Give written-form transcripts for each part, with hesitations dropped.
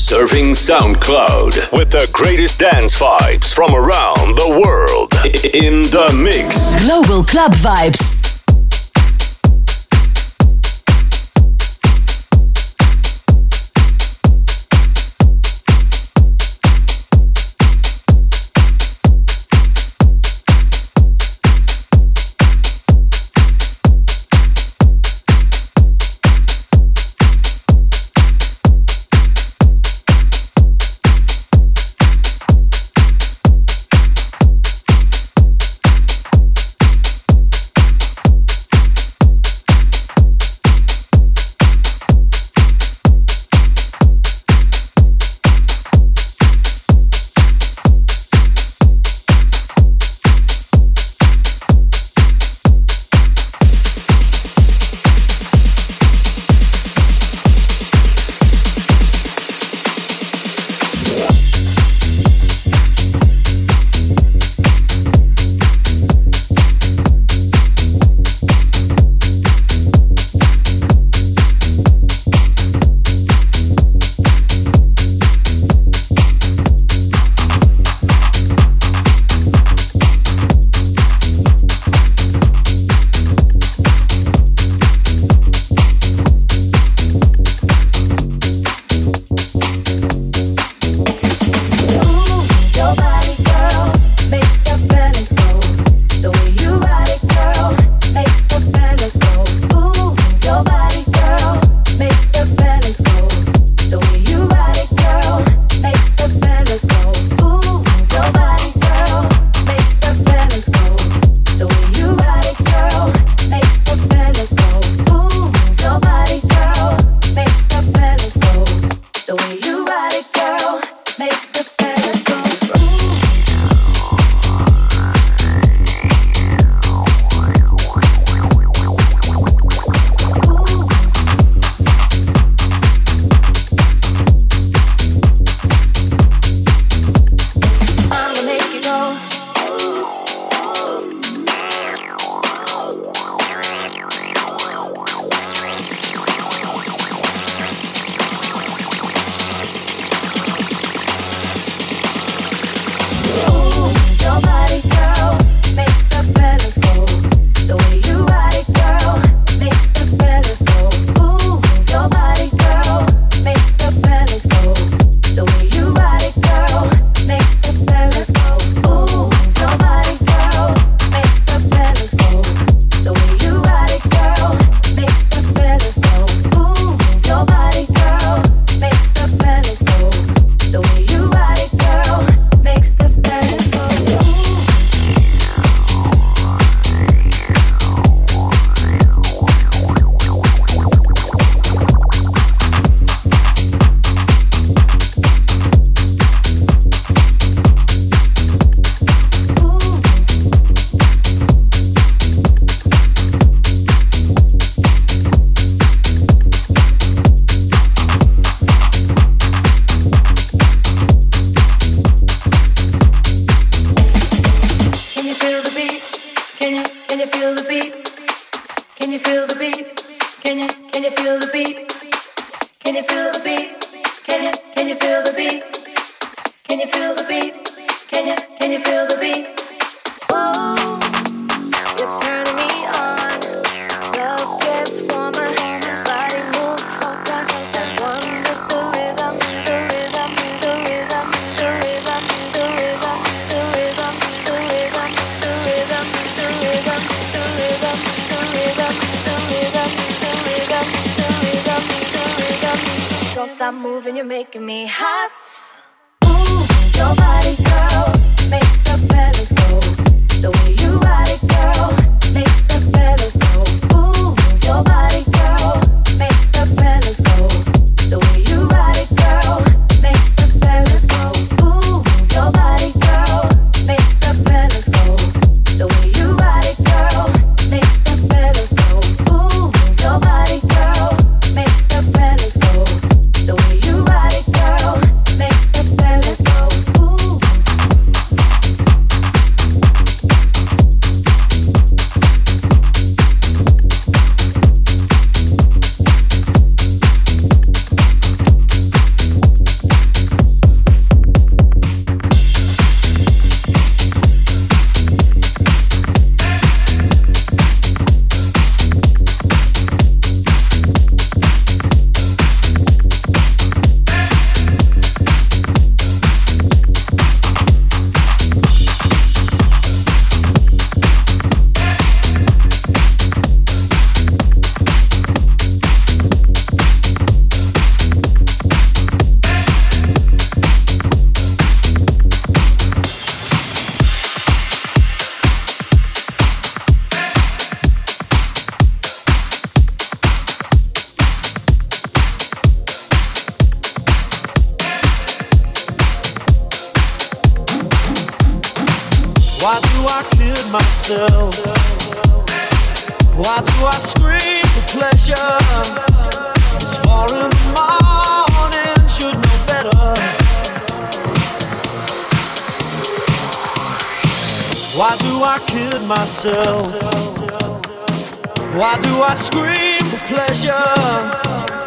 Surfing SoundCloud with the greatest dance vibes from around the world. In the mix. Global Club Vibes. Stop moving, you're making me hot. Move your body, girl, make the fellas go. The way you ride it, girl, makes the fellas go. Move your body, girl, make the fellas go. The way you ride it, girl, makes the fellas go. Move your body, girl, make the fellas go. The way you ride it, girl, makes the fellas go. Move your body, girl, make the fellas go. The way you ride it, girl, makes the fellas go. Ooh. Why do I kid myself? Why do I scream for pleasure? It's 4 in the morning, should know better. Why do I kid myself? Why do I scream for pleasure?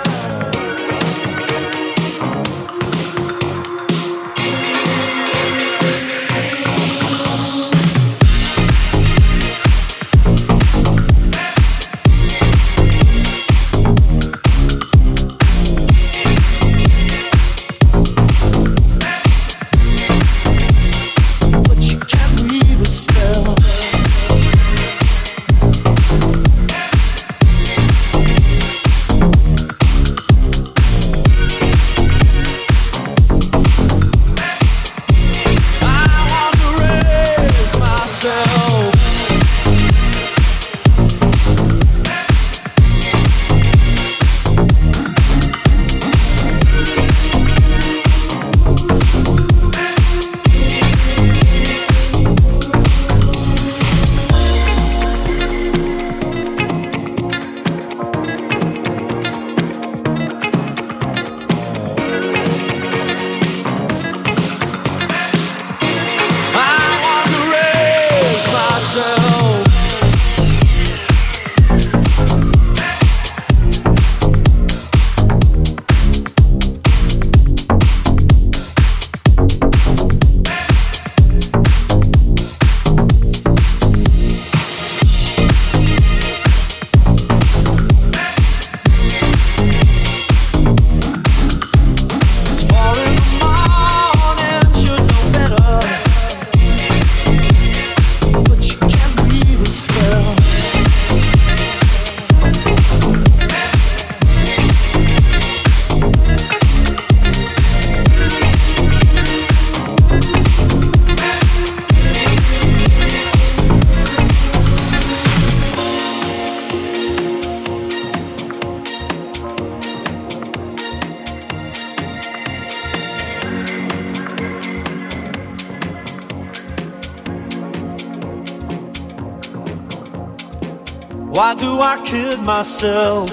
Why do I kid myself?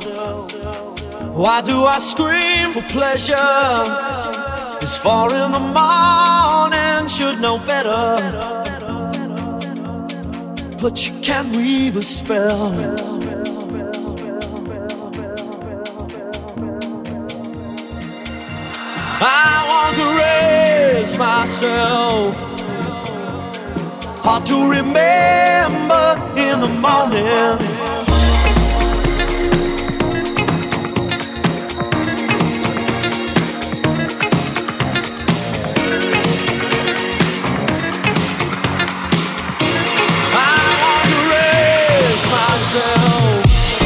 Why do I scream for pleasure? It's 4 in the morning, should know better. But you can't weave a spell. I want to raise myself. Hard to remember in the morning. I want to raise myself.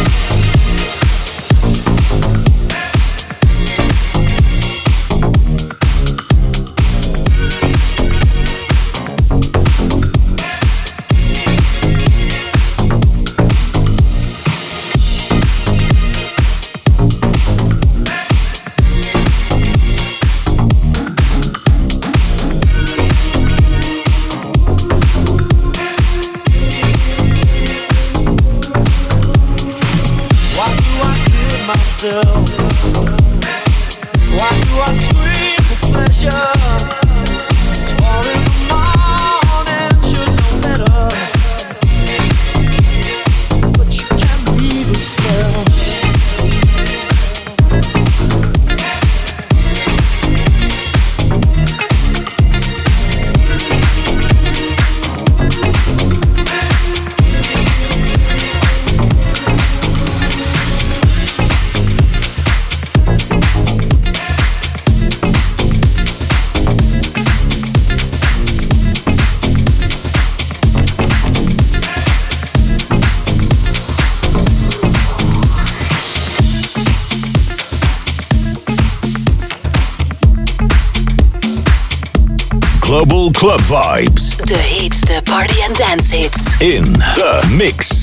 Why do I scream for pleasure? It's 4 in the morning, should know better. But you can't weave a spell. Global Club Vibes. De heetste party en dance hits. In the mix.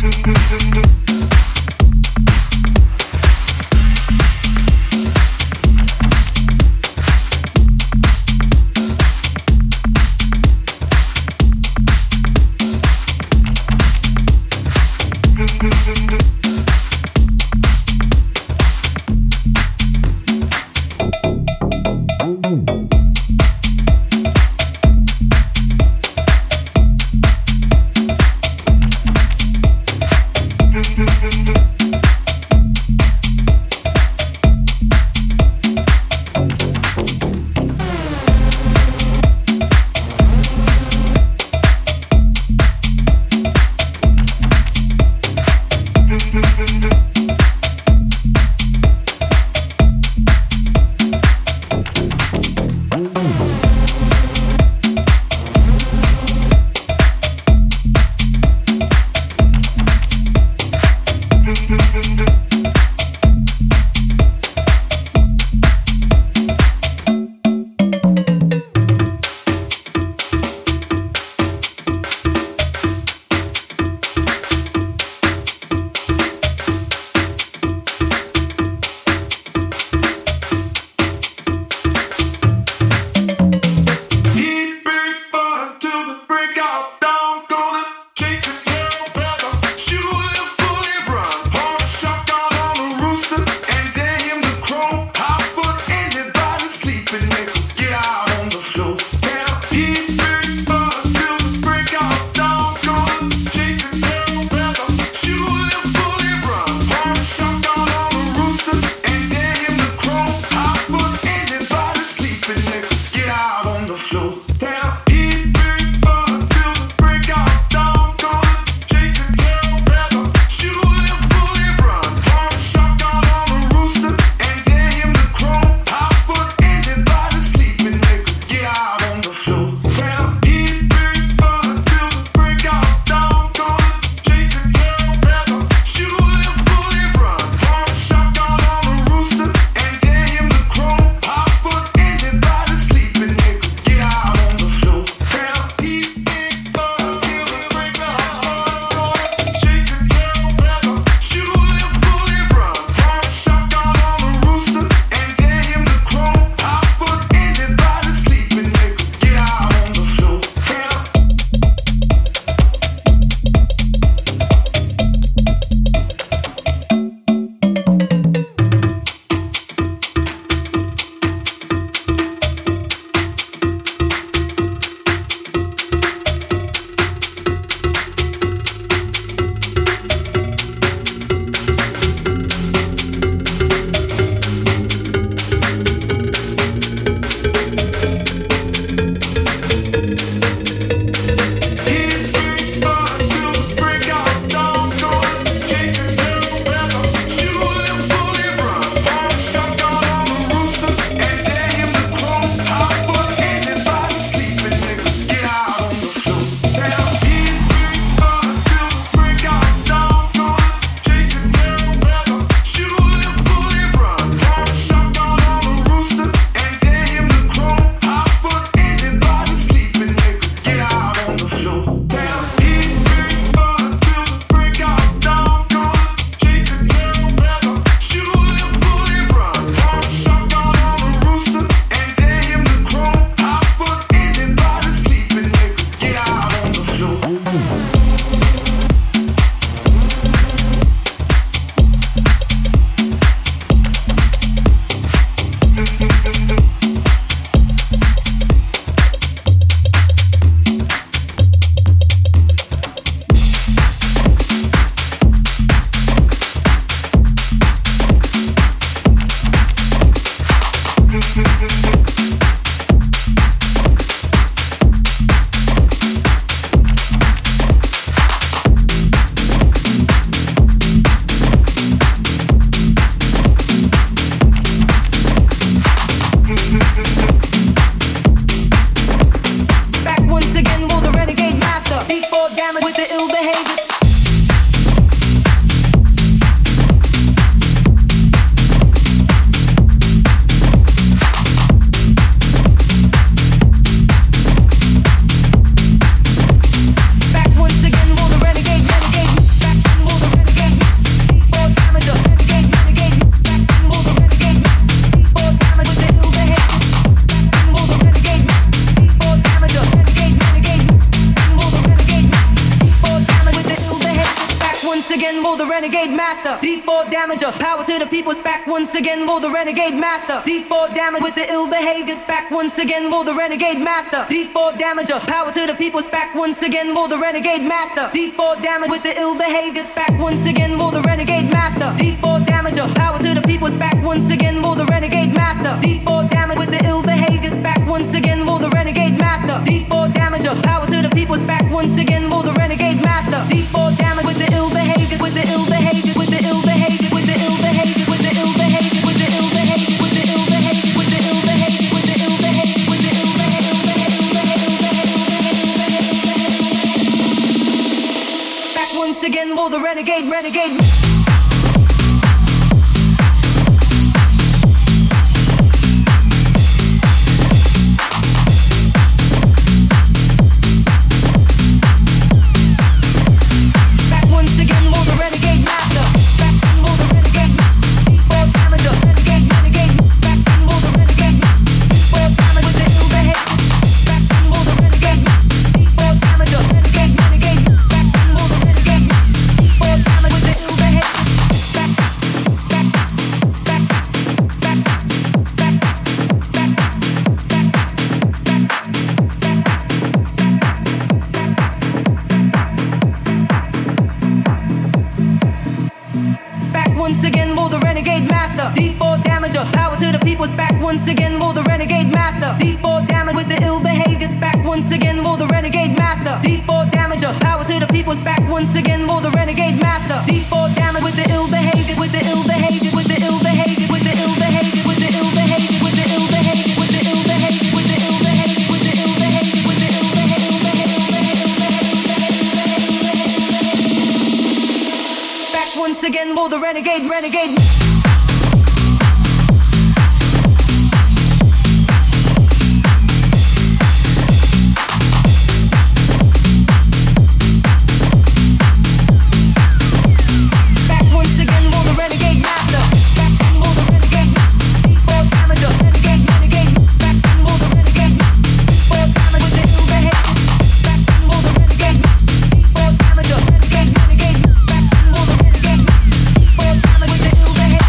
for the renegade master. D4 damager, power to the people. Back once again for the renegade master. D4 damage with the ill behavior. Back once again for the renegade master. D4 damager, power to the people. Back once again for the renegade master. D4 damage with the ill behavior. Back once again for the renegade master. D4 damager, power to the people. Back once again for the renegade master. D4 damage with the ill behavior. Back once again for the renegade master. D4 damager, power to the people. Back once again for the renegade master. D4 damage with the ill behavior. With the ill behavior. With the ill behavior. With the ill behavior. With the ill behavior. With the ill behavior. With the ill behavior. With the ill behavior. With the ill behavior. With the ill behavior. Back once again for the renegade. Once again for the renegade master. D4 damage with the ill behavior. Back once again for the renegade master. D4 damager, power to the people. Back once again for the renegade master. D4 damage with the ill behavior. With the ill behavior. With the ill behavior. With the ill behavior. With the ill behavior. With the ill behavior. With the ill behavior. With the ill behavior. With the ill behavior. With the ill behavior. Back once again for the renegade. With the ill behavior.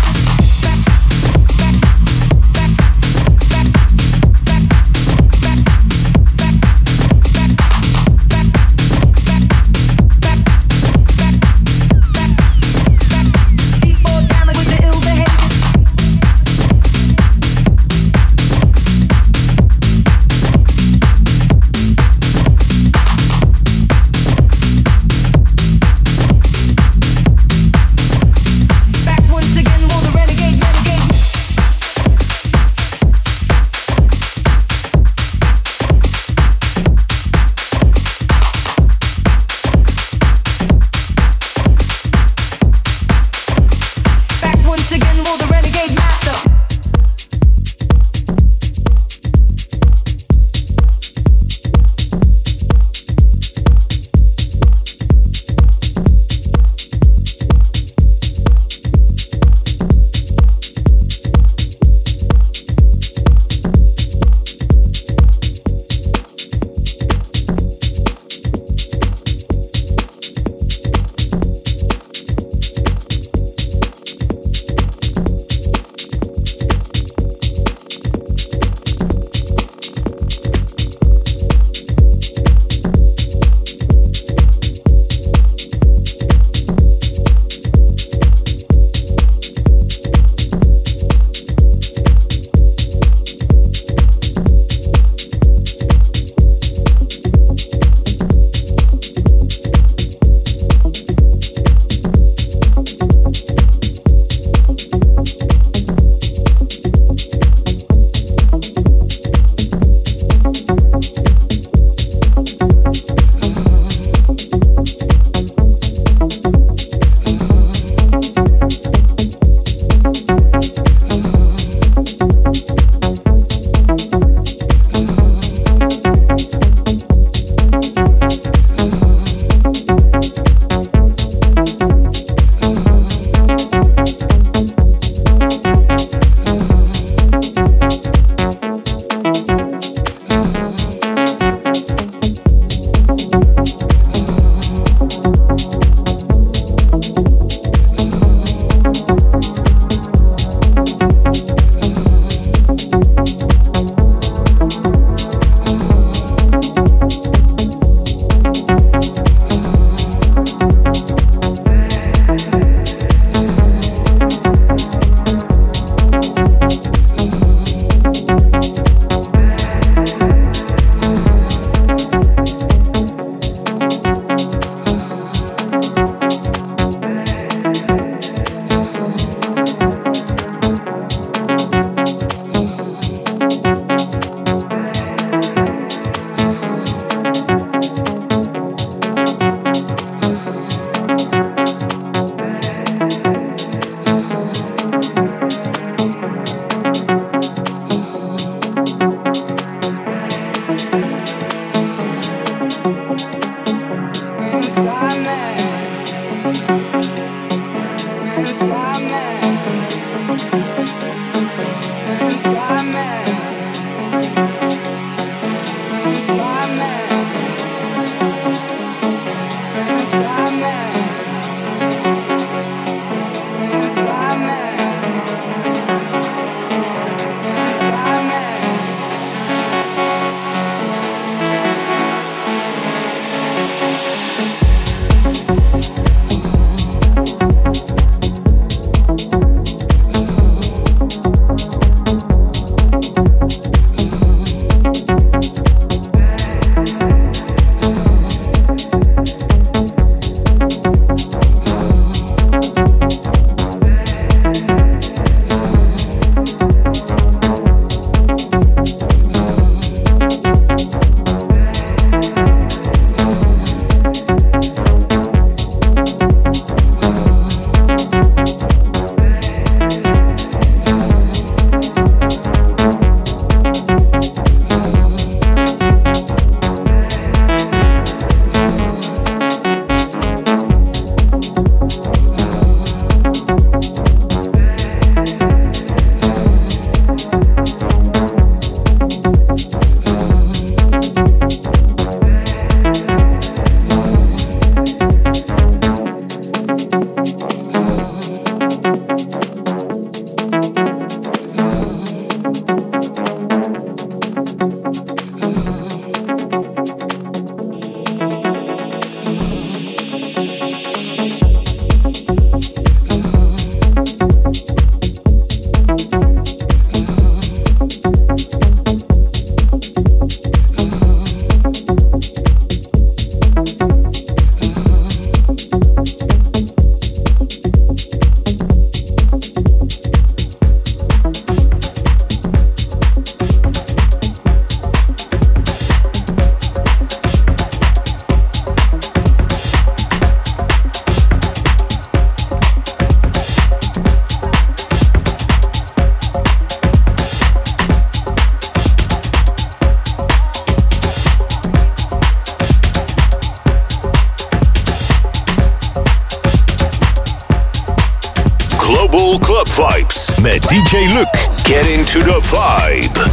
Global Club Vibes met DJ Luc. Get into the vibe.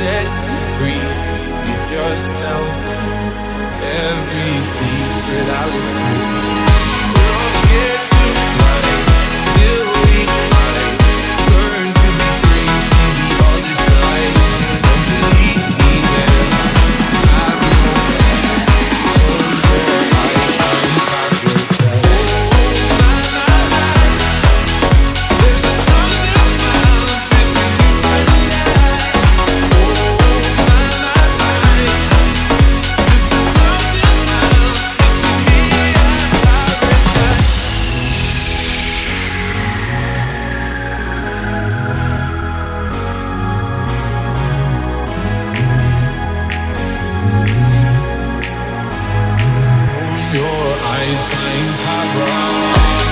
set you free. You just tell me every secret I listen. We're all scared to fly, still we try. Learn to be brave, see the other side. Don't you leave me there, have no fear. Close your eyes, find paradise. There's 1,000 miles between you and I. Your eyes find paradise.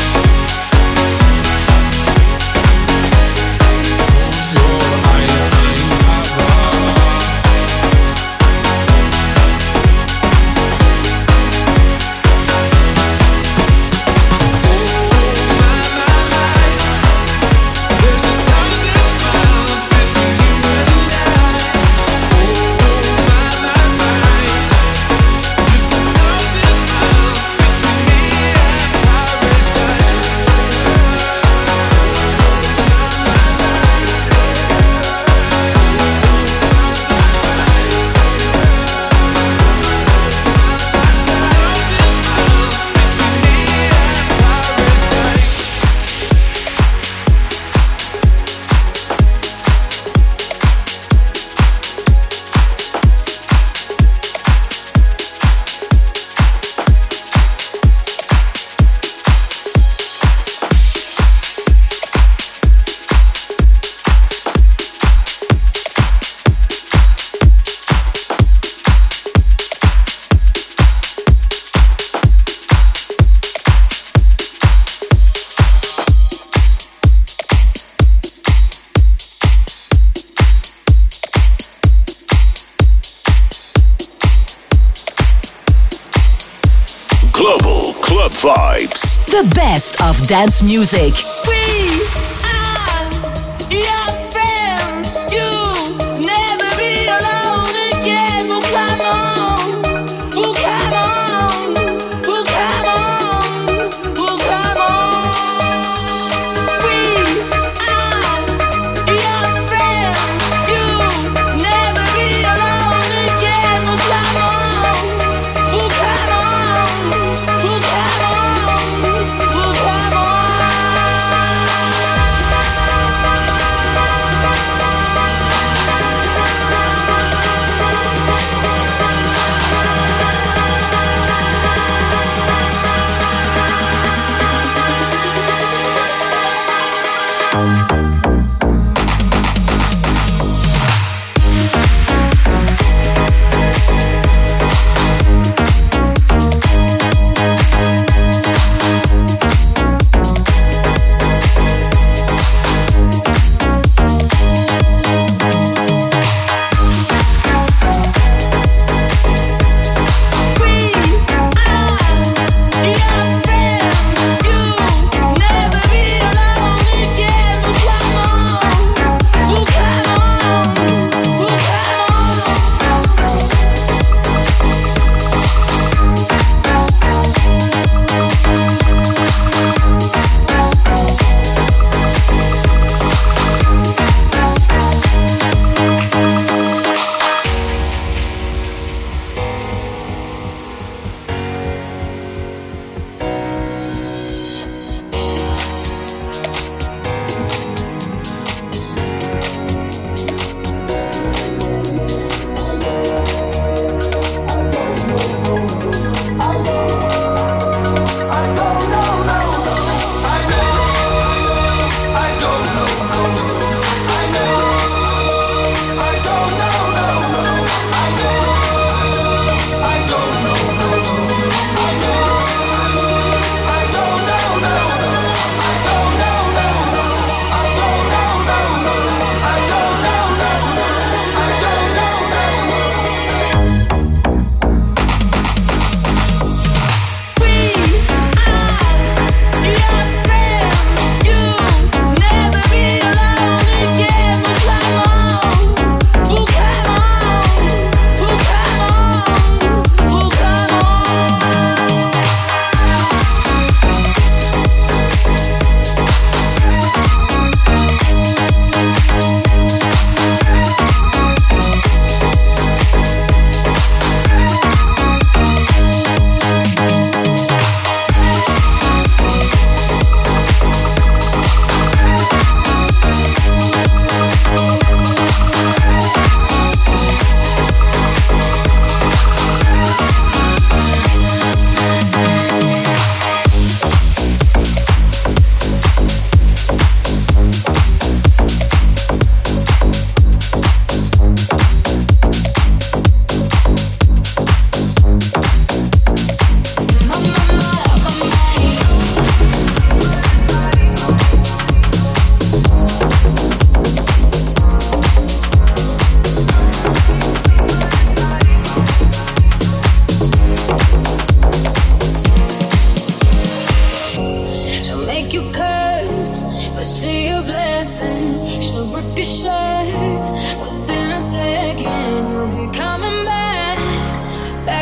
Close your eyes find paradise. There's 1,000 miles between you and I. Just 1,000 miles between me and paradise. Global Club Vibes. The best of dance music. We are your friends. You'll never be alone again. Well, come on. Well, come on. Well, come on. Well, come on. We are your friends. You'll never be alone again. Well, come on. Well, come on. Well, come on. Well, come on.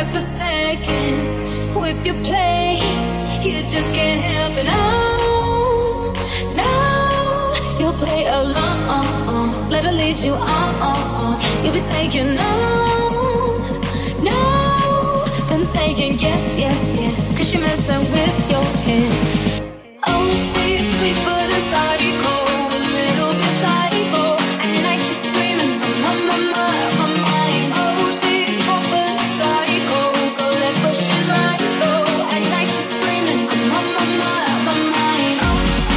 back for seconds with your play. You just can't help it. No, you'll play along. Let her lead you on. You'll be saying no, then saying yes, yes, yes. 'Cause you're messing with your head. Oh, she's sweet but a psycho, a little bit psycho. At night she's screaming, my mind. Oh, she's hot but a psycho, so left but she's right though. At night she's screaming, my mind. Oh,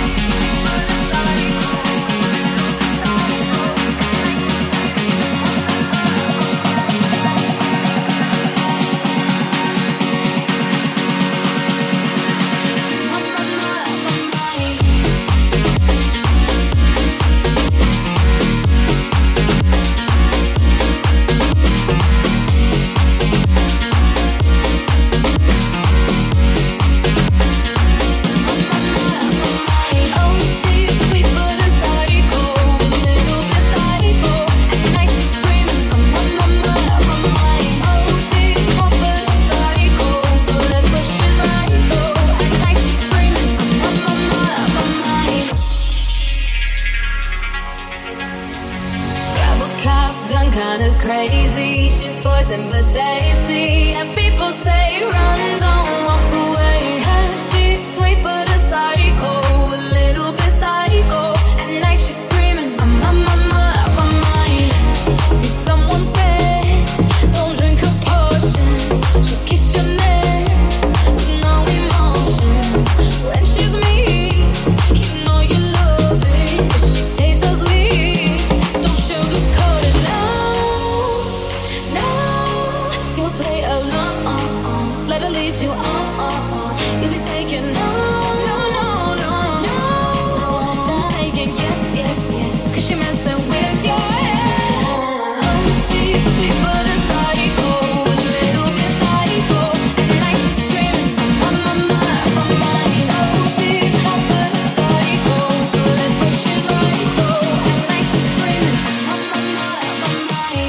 kinda crazy, she's poison but tasty. And people say run, don't walk away. She's sweet but a psycho, a little bit psycho. At night she's screaming, my mind. See, someone said, don't drink her potions. She'll kiss your neck with no emotions. When she's mean, you know you love it. But she tastes so sweet, don't sugarcoat it. No, you'll play along. Let her lead you on. You'll be saying no, then saying yes, yes, yes. 'Cause you're messing with your head. Oh, she's sweet but a psycho, a little bit psycho. At night she's screaming, my mind. Oh, she's hot but a psycho, so left but she's right though. At night she's screaming, my mind.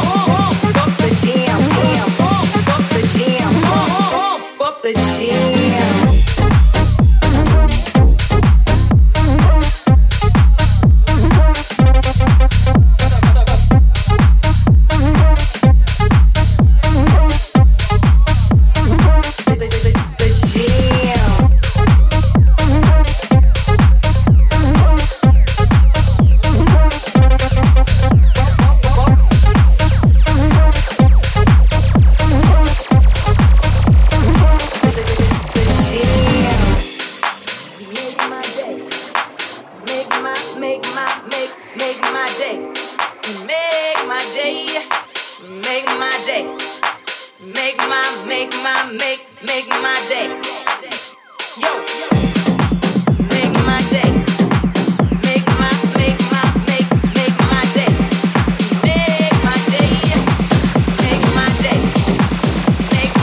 The jam. make my day. Yo, make my day. Make my day. Make my day. Make my day. Make my day. Make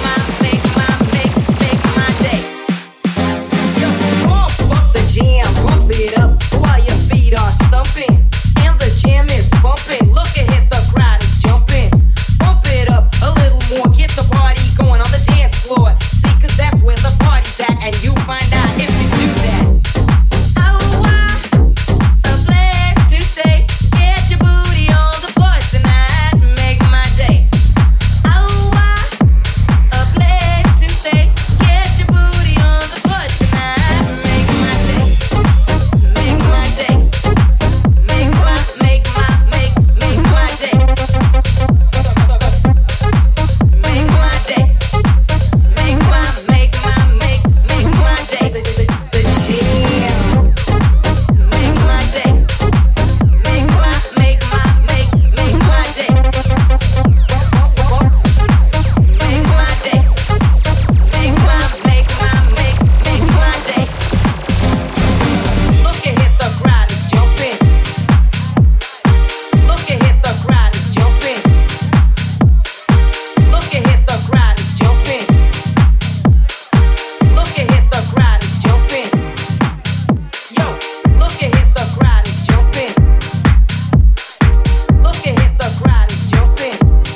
my day. Yo, pump up the jam, pump it up while your feet are stumping, and the jam is bumping. Look ahead, the crowd is jumping. Pump it up a little more, get the party going on the dance floor. See, 'cause that's where the party's at, and you find out if you do that. Oh, a place to stay. Get your booty on the floor tonight. Make my day. Oh, a place to stay. Get your booty on the floor tonight. Make my day. Make my day. Make my day. Make my day. Make my day. The jam. Make my day. Make my day. Make my day. Make my day. Look ahead, the crowd is jumping. Look ahead, the crowd is jumping. Look ahead, the crowd is jumping. Look ahead, the crowd is jumping. Yo, look ahead, the crowd is jumping. Look ahead, the crowd is jumping.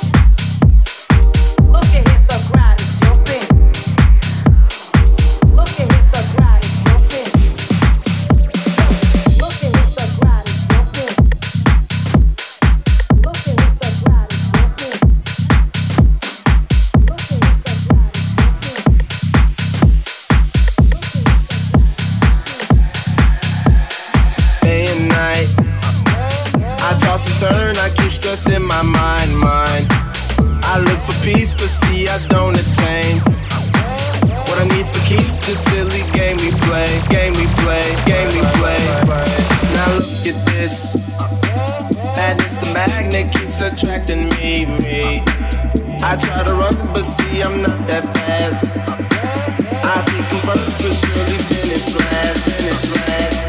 Look ahead, the crowd is jumping. Look ahead, the crowd is jumping. Look ahead, the crowd is jumping. Look ahead, the crowd is jumping. Look ahead, the crowd is jumping. Day and night, I toss and turn, I keep stressing my mind. I look for peace, but see I don't attain. What I need for keeps the silly game we play. Now look at this, madness the magnet keeps attracting me. I try to run, but see I'm not that fast. I think I'm first, but surely finish last.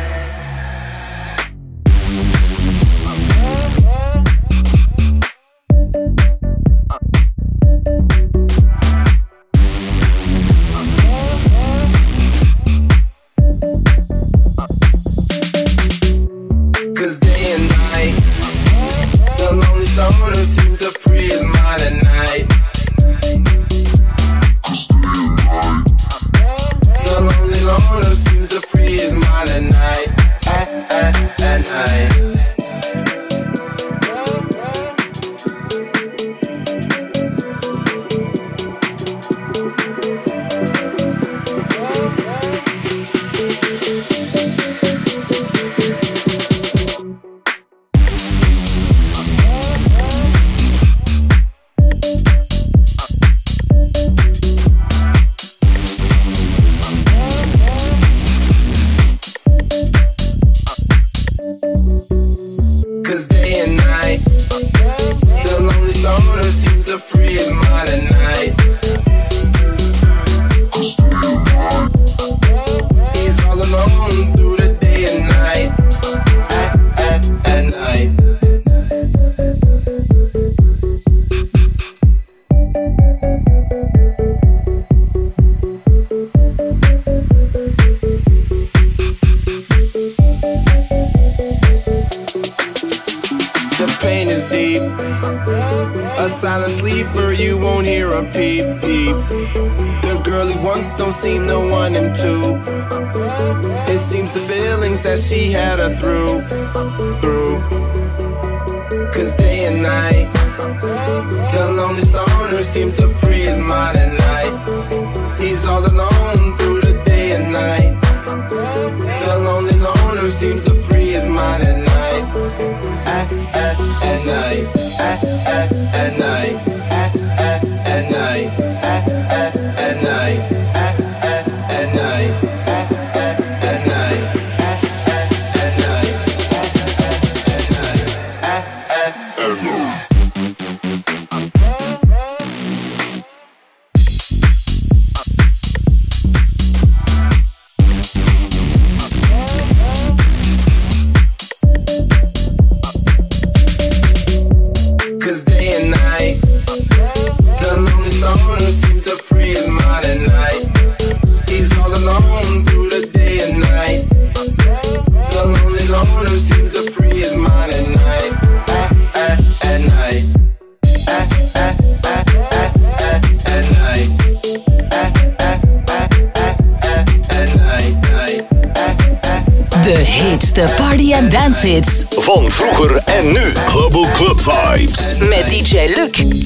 Cause day and night, the lonely stoner seems to free his mind at night. The lonely loner seems to free his mind at night. At night. Cause day and night, the lonely stoner seems to free his mind at night. He's all alone through the day and night. At night. The pain is deep, a silent sleeper, you won't hear a peep. The girl he wants don't seem to want him to. It seems the feelings that she had her through. Cause day and night, the lonely stoner seems to free his mind at night. He's all alone through the day and night. The lonely loner seems to free his mind at night. At night. At night. At night. At night. At night. At night. At night. beste party- en dance hits. Van vroeger en nu. Global Club Vibes. Met DJ Luc.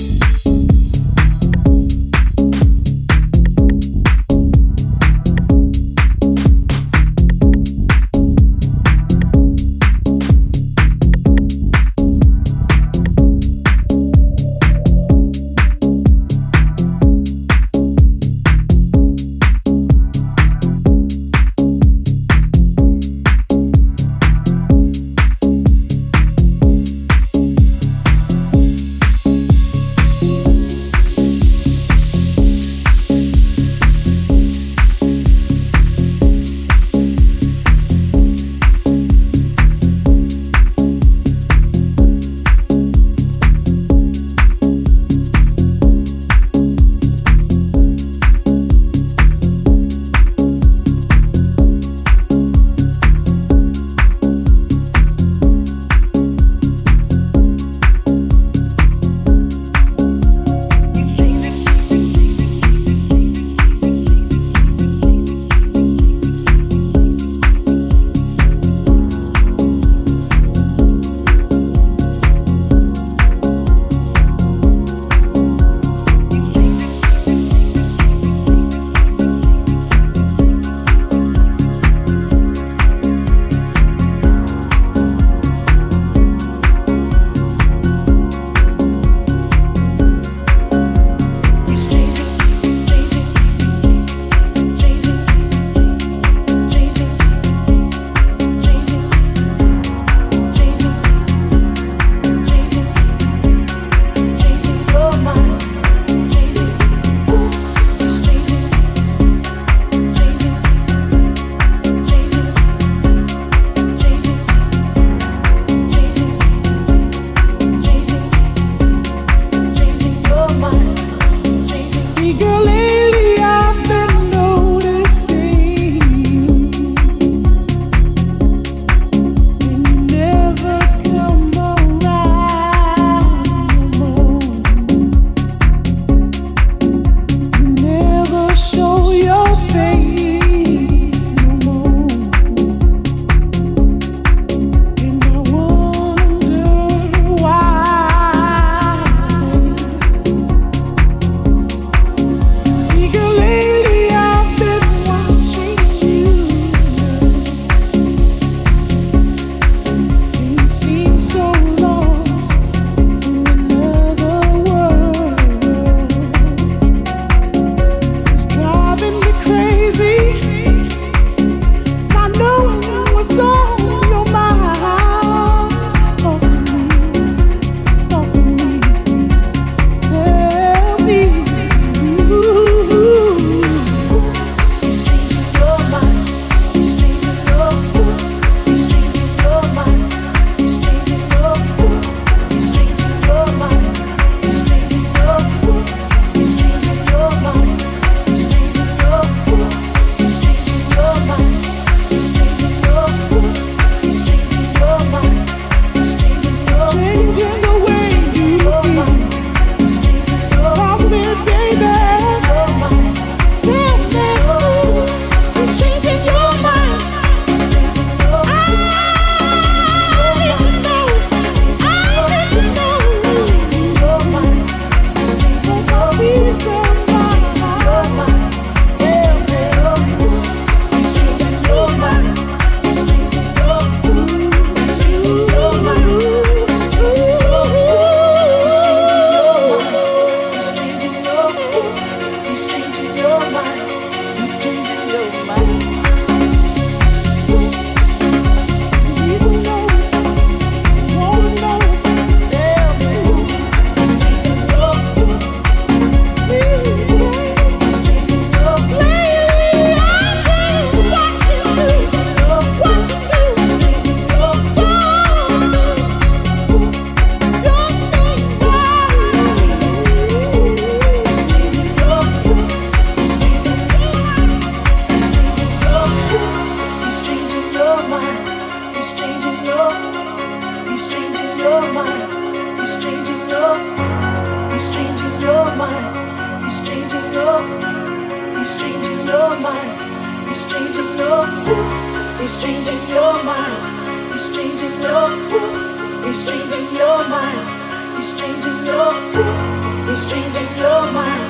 He's changing your mind. He's changing your mind. your world. He's changing your mind. He's changing your world. He's changing your mind.